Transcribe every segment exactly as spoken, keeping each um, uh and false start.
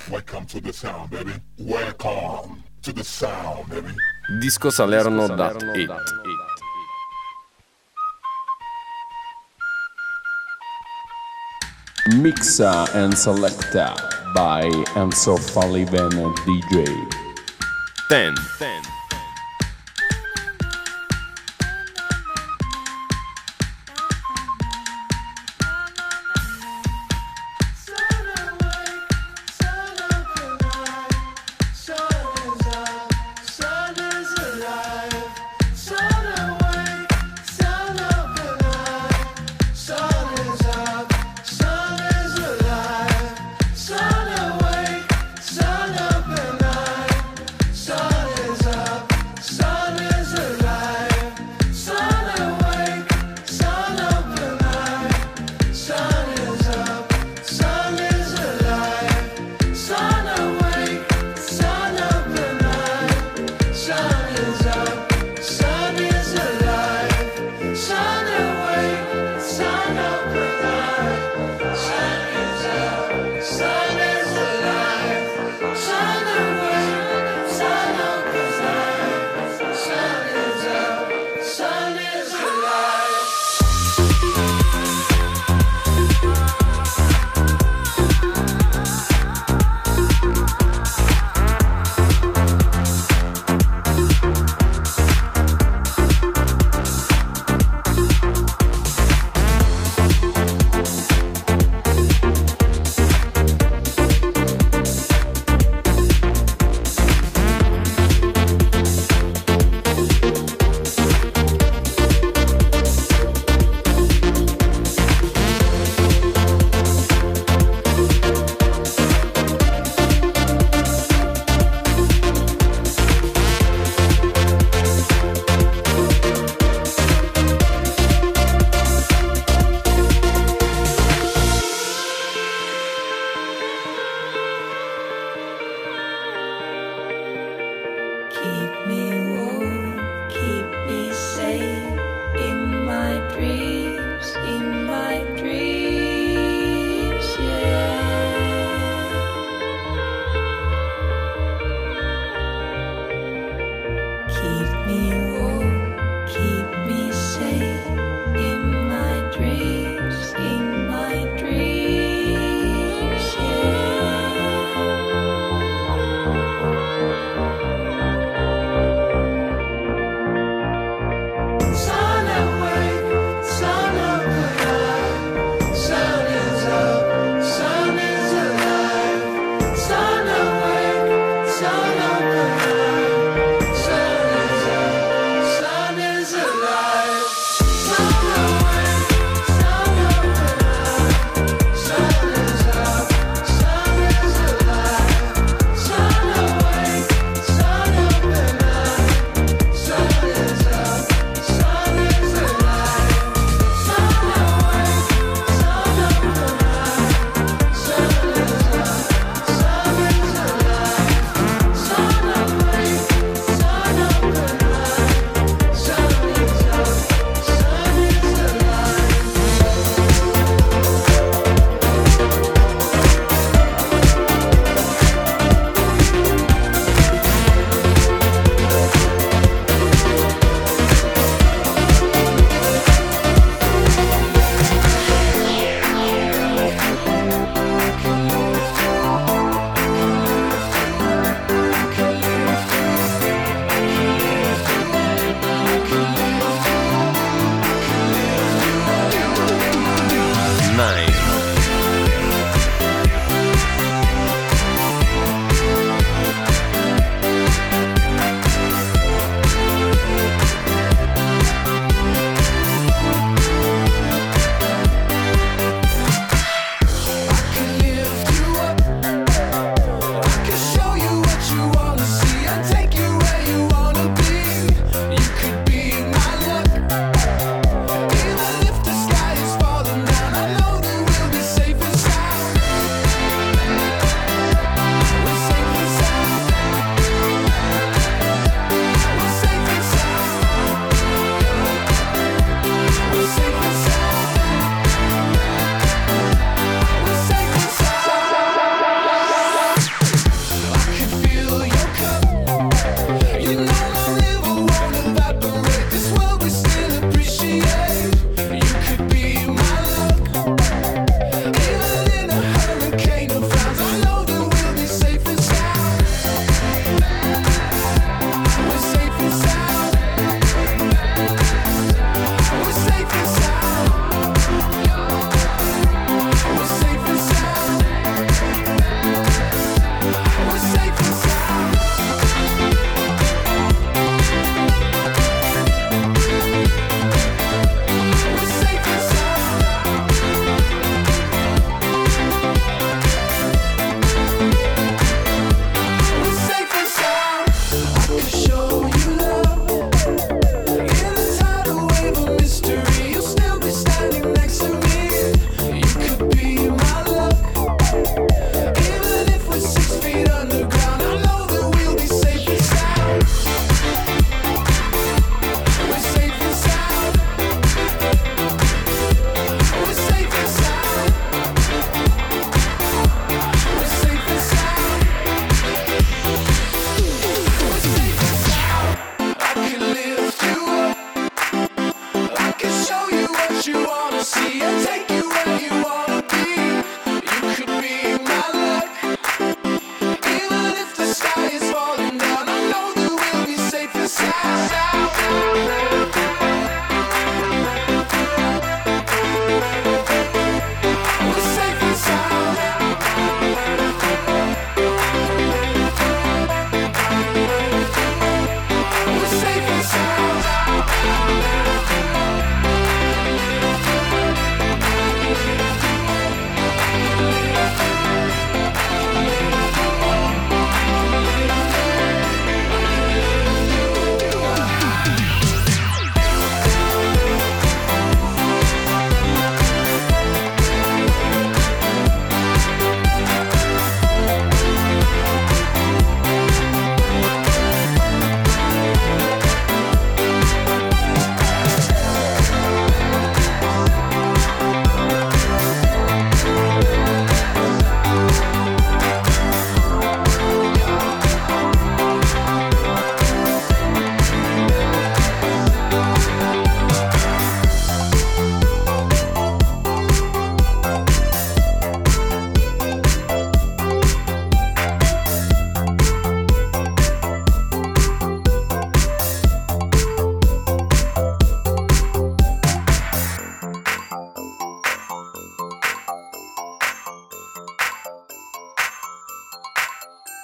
Welcome to the sound, baby. Welcome to the sound, baby. Disco Salerno dot it. Mixa and selecta by Enzo Sullivan D J. Ten. Ten.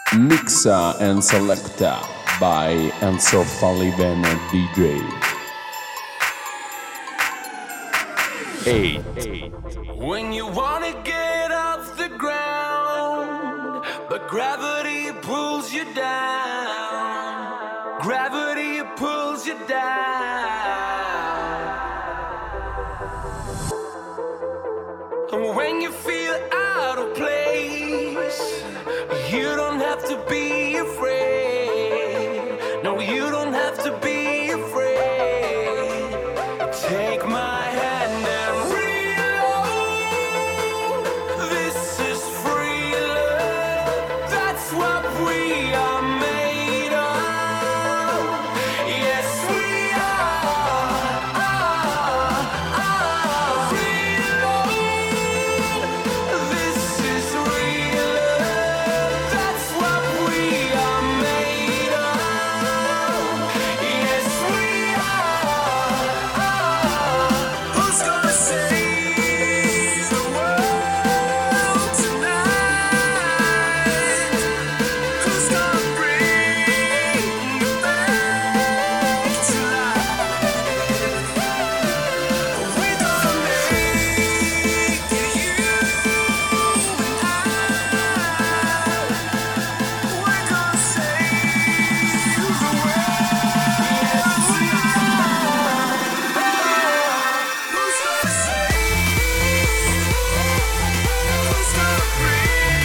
Mixa and Selecta by Enzo Falliven D J. eight. When you wanna get off the ground, but gravity pulls you down. Gravity pulls you down. And when you feel out of place, you don't have to be afraid. No, you don't have to be afraid. Take my hand and reload. This is free love. That's what we are made of. Yes, we are. are, are. Reload. This is real love. That's what we are made of. Yes, we are. Who's gonna save the world tonight? Who's gonna bring it back to life? We're gonna make it, you and I. We're gonna save the world. Yes, we are. Who's gonna save? Who's gonna bring?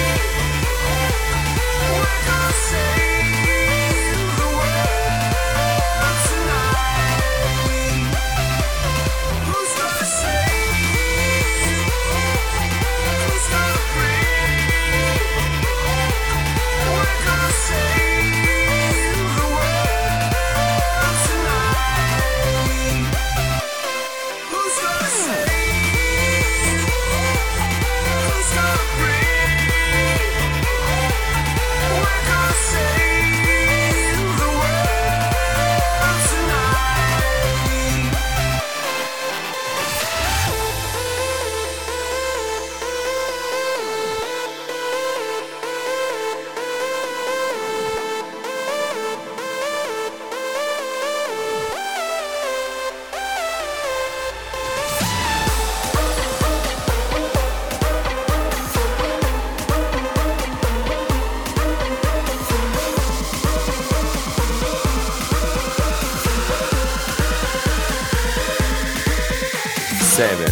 We're gonna save the world tonight. Who's gonna save? Who's gonna bring? We're gonna save the world tonight. Who's gonna save? Who's gonna bring? We're gonna save the world tonight. seven.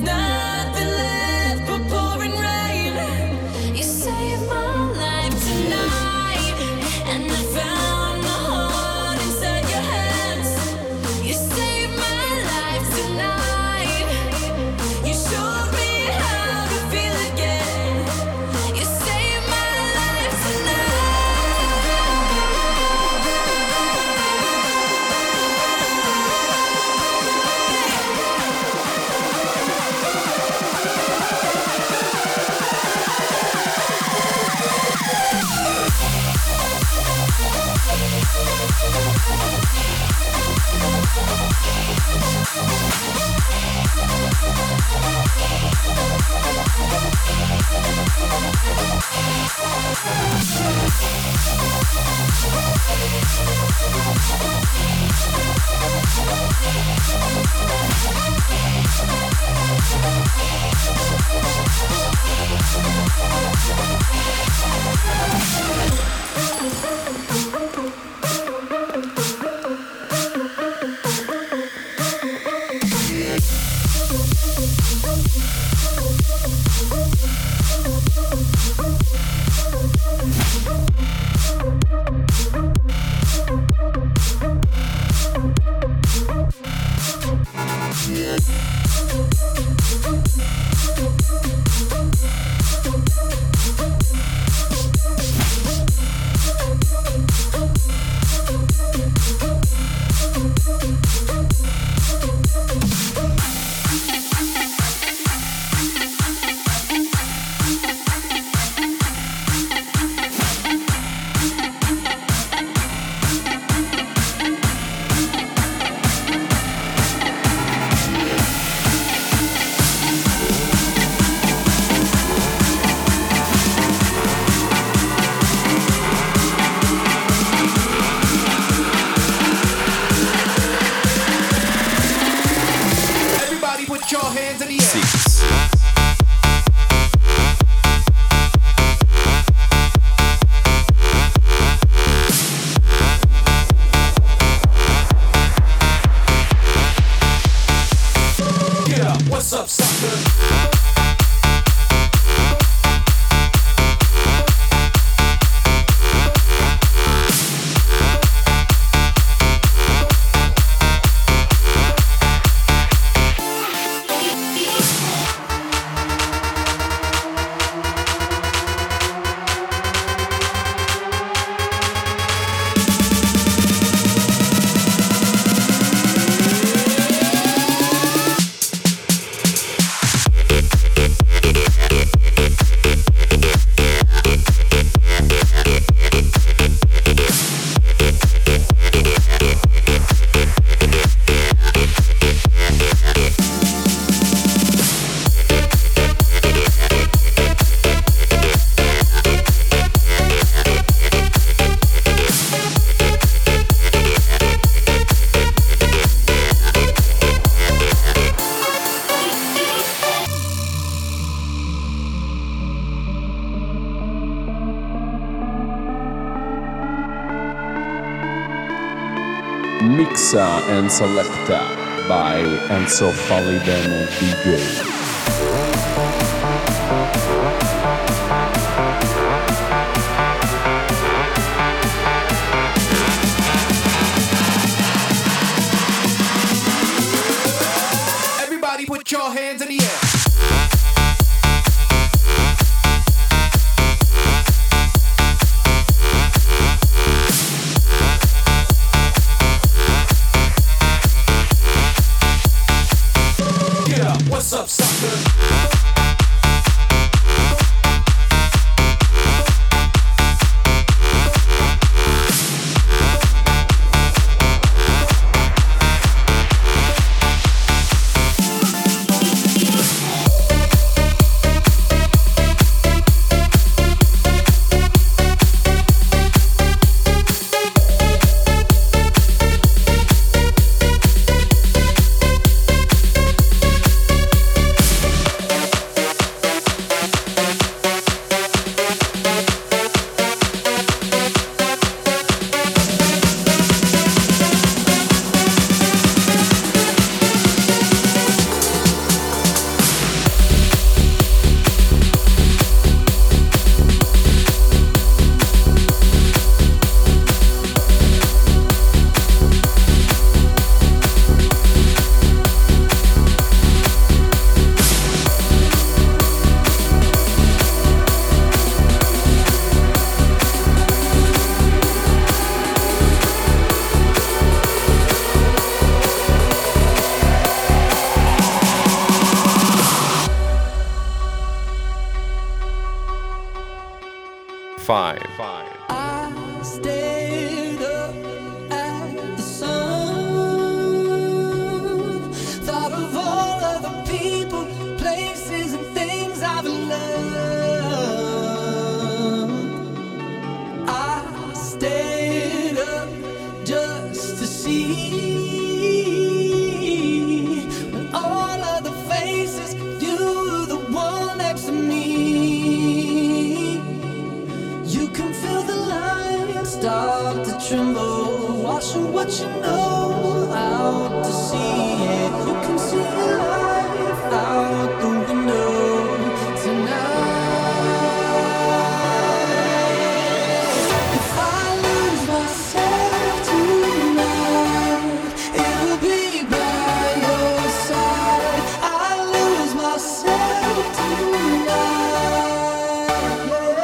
nothing left but pouring rain. You saved my life tonight, and I found my heart inside your hands. You saved my life tonight. You showed me how to feel again. You saved my life tonight. Mixa and Selecta by Enzo Falivene D J. Put your hands in the air. Get up, what's up, sucker? five. I stayed up at the sun, thought of all of the people, places, and things I've loved. I stayed up just to see when all of the faces, you were the one next to me. You can feel the light start to tremble, watching what you know out to sea. Yeah, you can see your life out the window tonight. If I lose myself tonight, it will be by your side. I lose myself tonight.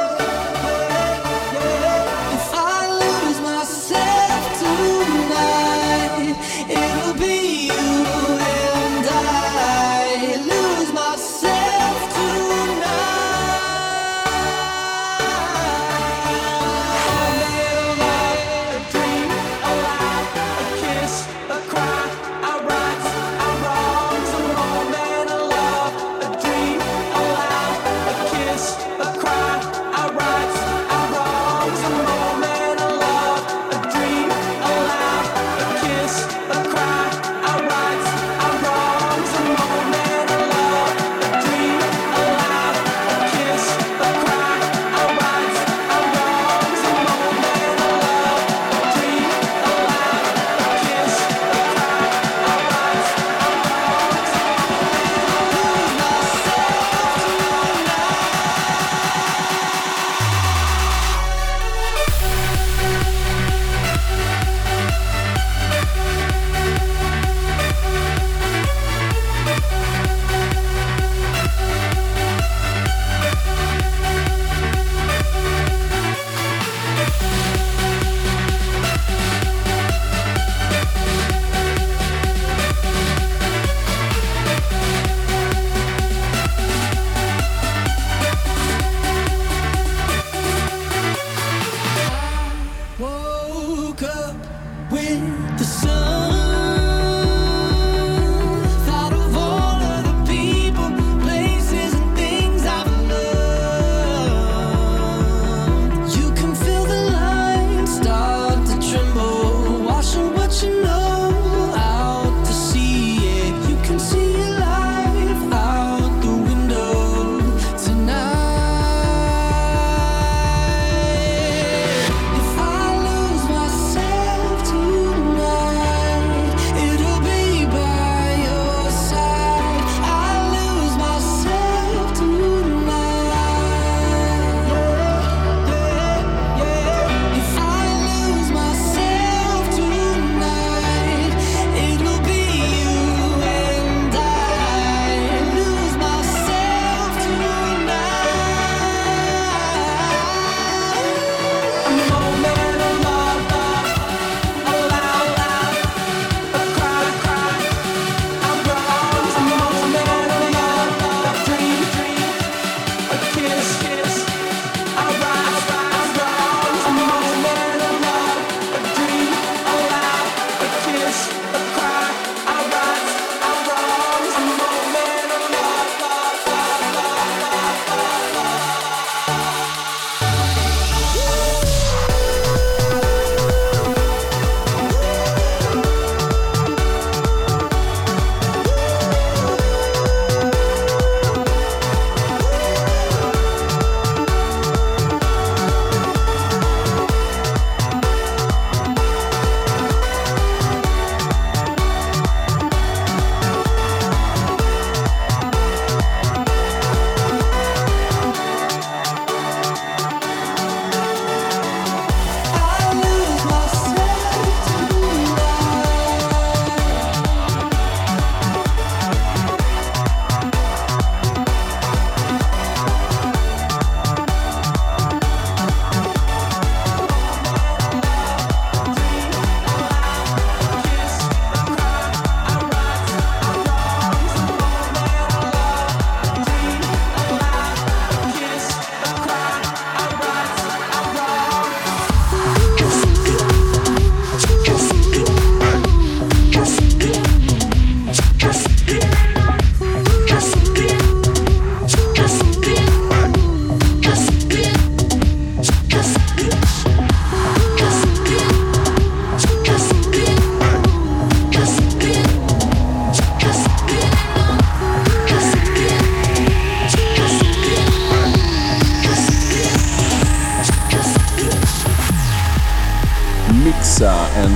If I lose myself tonight, it'll be you.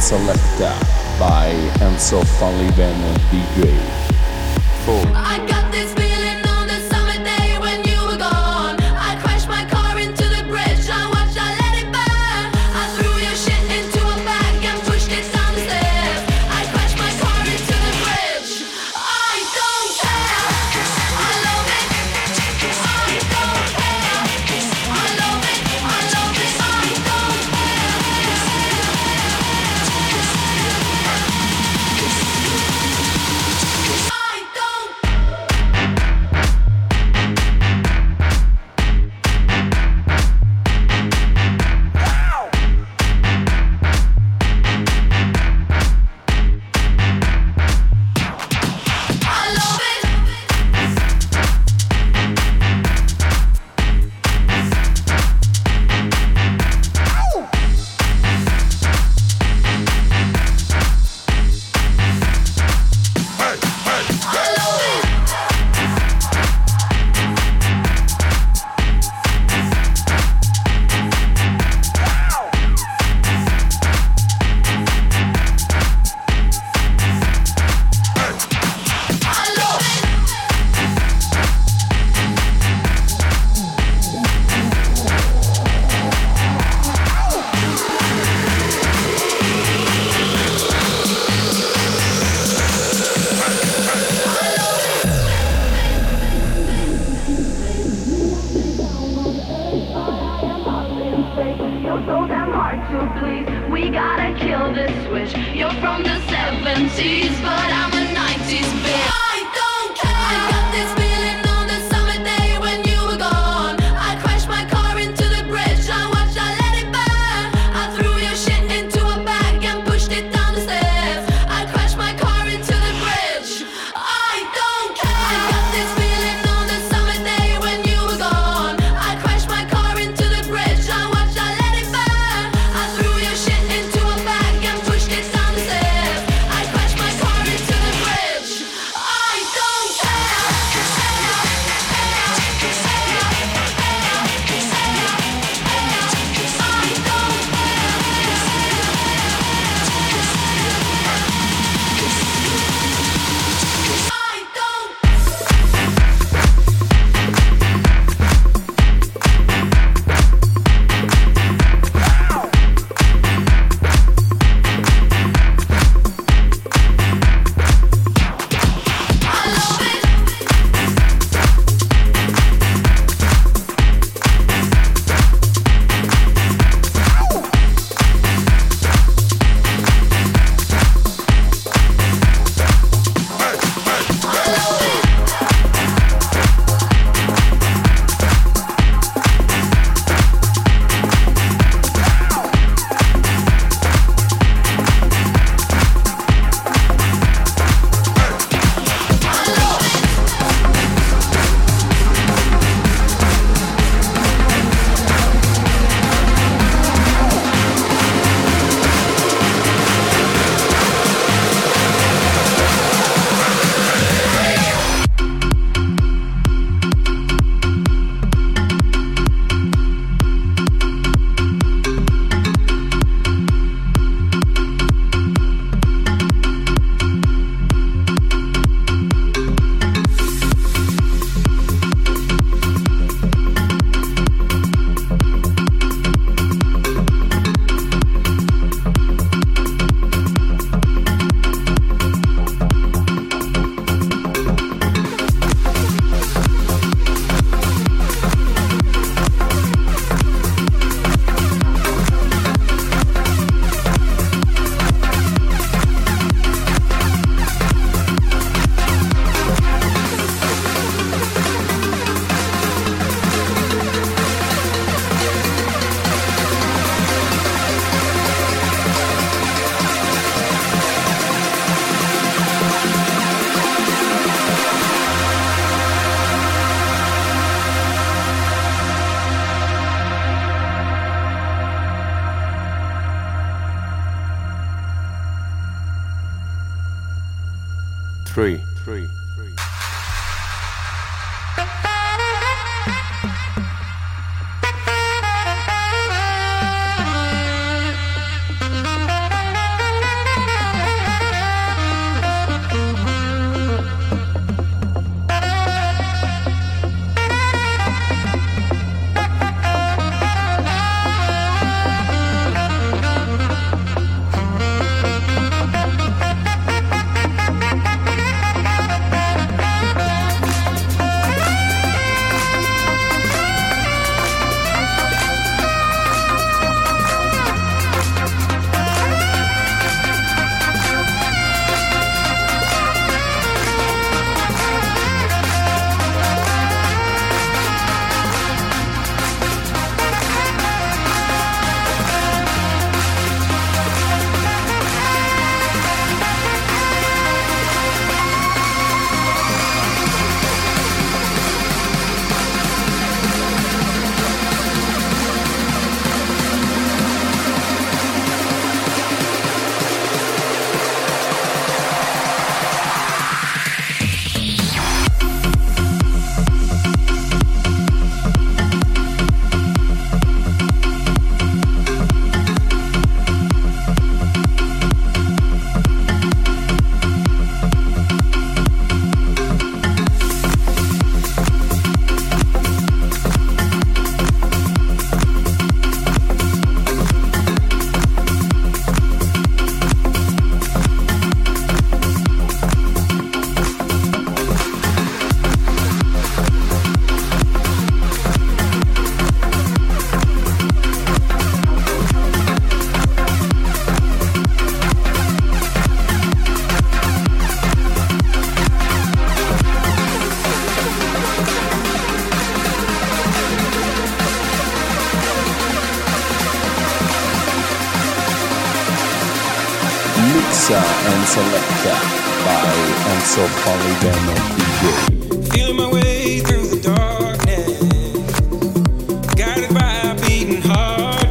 Selecta by Enzo Falliven D J. four, I got this feeling on the summer day when you were gone. I crashed my car into the bridge. I watched, I let it burn. I threw your shit into a bag and pushed it down the stairs. I crashed my car into the bridge. I don't care. I love it. I don't care. I love it. I love it. I don't care. I don't. I love it. I love it. I love it. You're so damn hard to please. We gotta kill this switch. You're from the seventies, but I'm a nineties bitch. I don't care. I got this feeling on the summer day when you were gone. I crashed my car into the bridge. I watched, I let it burn. I threw your shit into a bag and pushed it down the stairs. I crashed my car into the bridge. I don't care. I got this feeling on the summer day when you were gone. I crashed my car into the bridge. I watched, I let it burn. I threw your shit into a bag and pushed it down the stairs. I crashed my car into the bridge. I don't care. I don't. I love it. I love it. I love it. three, three, three. Mix and Selecta by Enzo Falivene D J. Feeling my way through the darkness, guided by a beating heart.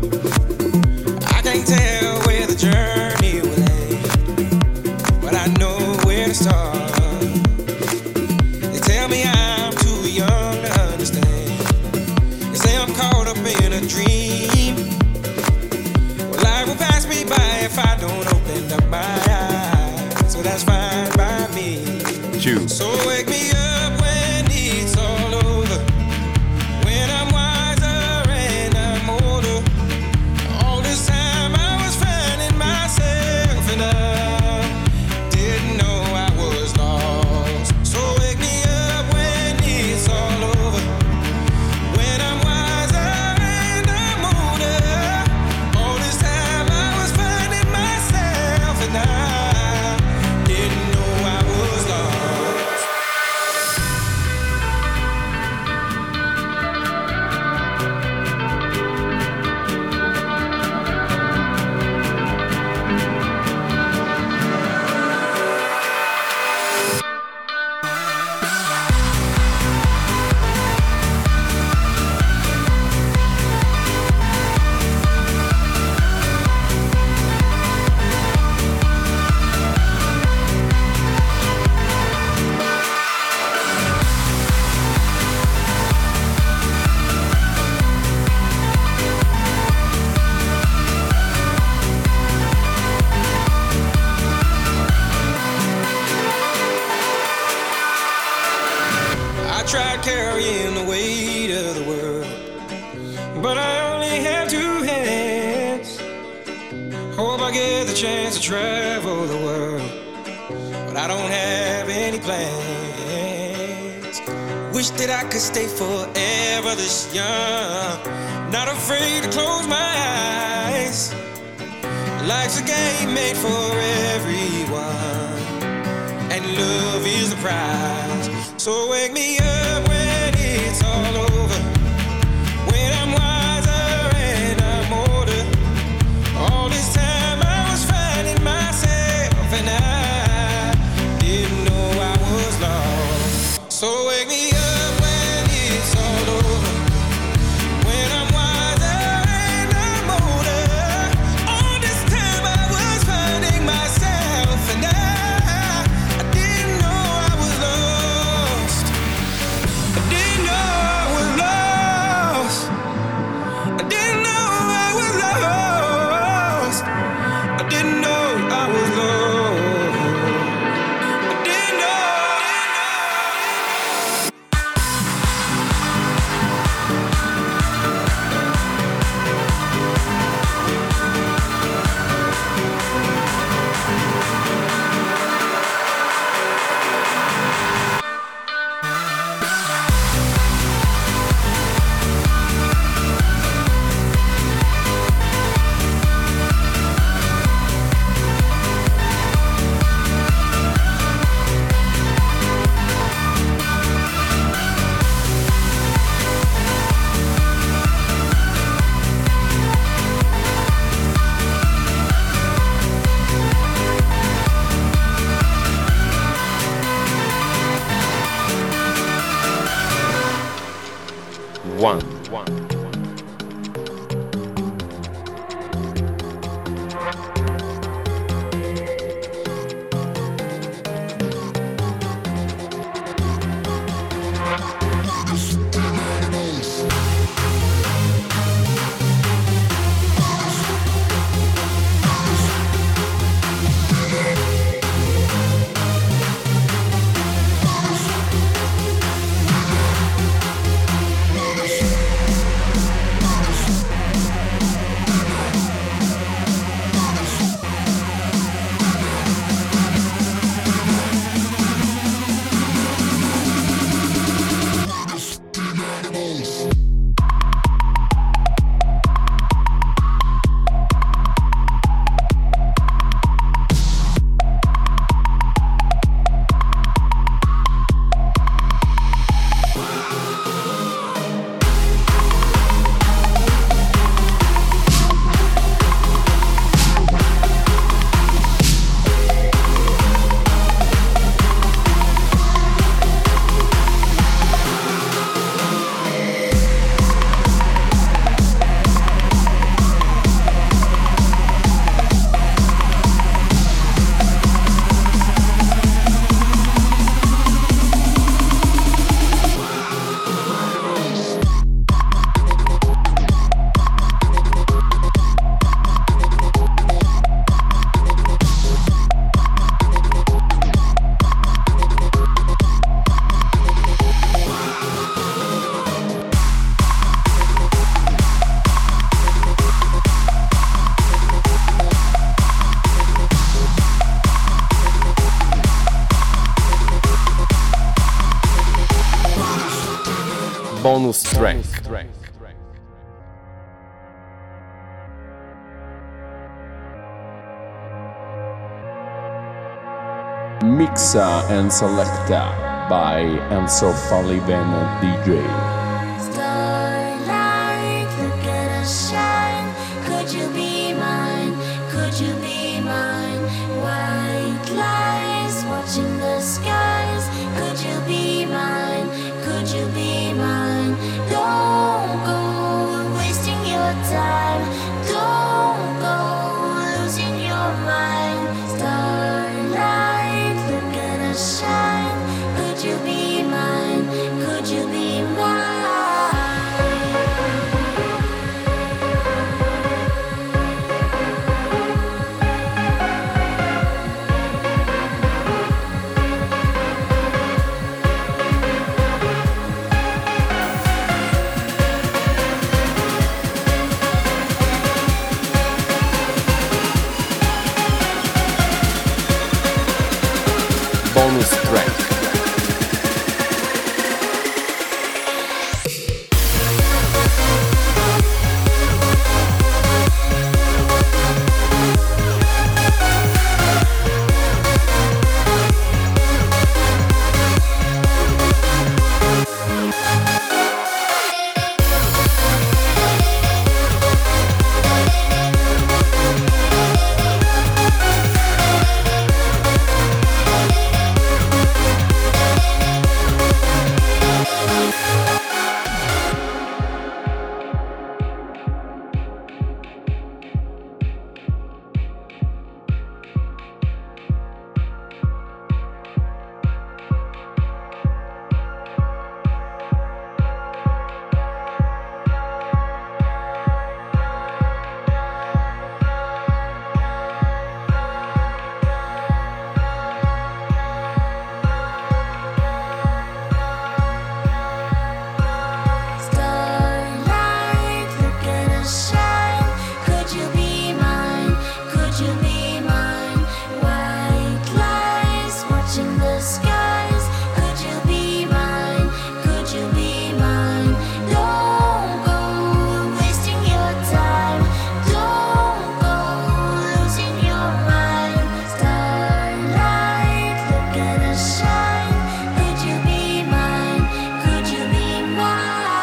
I can't tell where the journey will end, but I know where to start. They tell me I'm too young to understand. They say I'm caught up in a dream. Well, life will pass me by if I don't open up my eyes. So that's fine by me. Two. So wake me up when it's all over, when I'm wiser and I'm older. All this time I was finding myself and I didn't know I was lost. So wake me up when it's all over, when I'm wiser and I'm older. All this time I was finding myself and I didn't know I was lost. I tried carrying the weight of the world, but I only have two hands. Hope I get the chance to travel the world, but I don't have any plans. Wish that I could stay forever this young, not afraid to close my eyes. Life's a game made for everyone, and love is the prize. So wake me up when it's all over, when I'm wiser and I'm older. All this time I was finding myself and I didn't know I was lost. So wake me up when it's all over, when I'm wiser and I'm older. All this time I was finding myself and I, I didn't know I was lost. I didn't know I was lost. I didn't know I was lost. I didn't know I was lost. I didn't know. One. Bonus track. Mixa and Selecta by Enzo Falliven D J. Starlight, look at us shine. Could you be mine? Could you be mine? White lies watching the skies. Could you be mine? Could you be mine? Don't go wasting your time. Don't go losing your mind. Starlight, look at us shine. Could you be mine? Could you be mine? Bonus track. Starlight, look at us shine. Could you be mine? Could you be mine? White lies watching the skies. Could you be mine? Could you be mine? Don't go wasting your time. Don't go losing your mind. Starlight, look at us shine. Could you be mine? Could you be mine?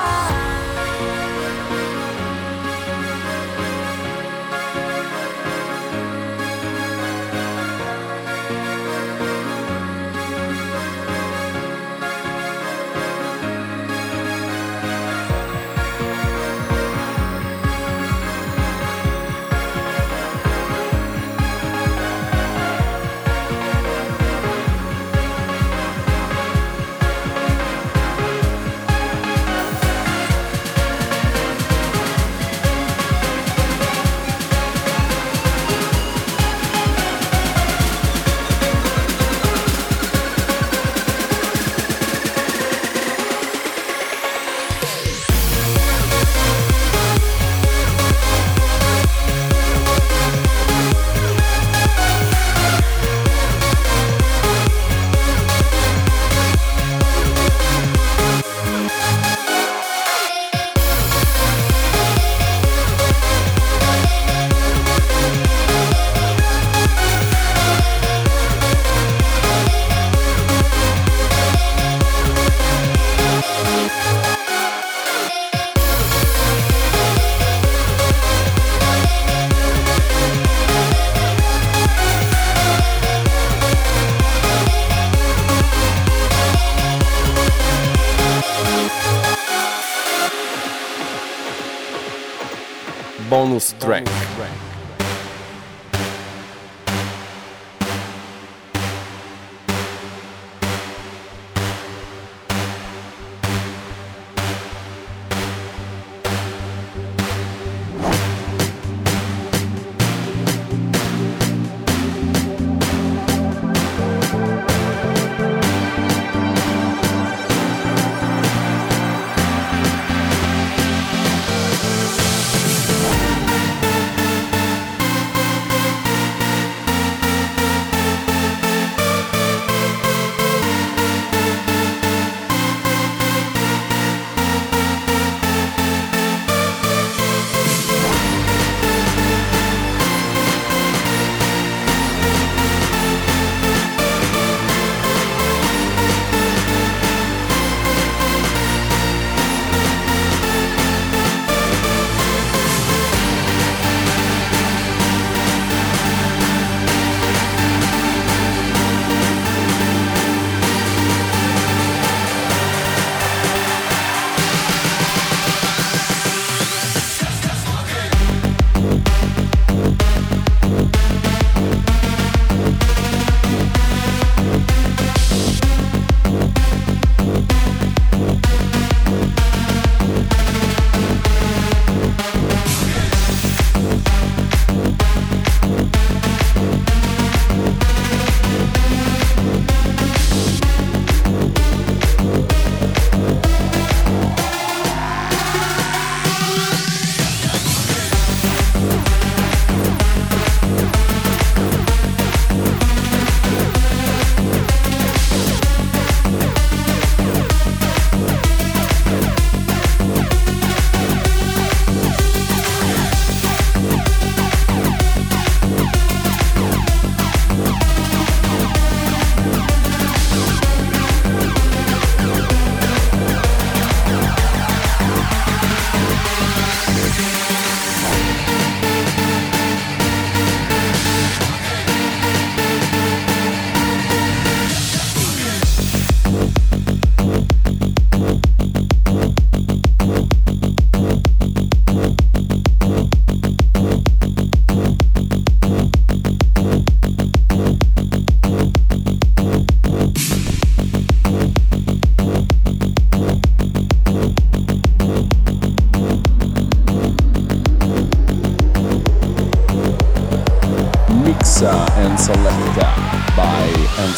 Bonus track.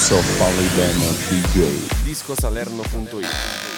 Enzo Falivene D J. disco salerno punto it.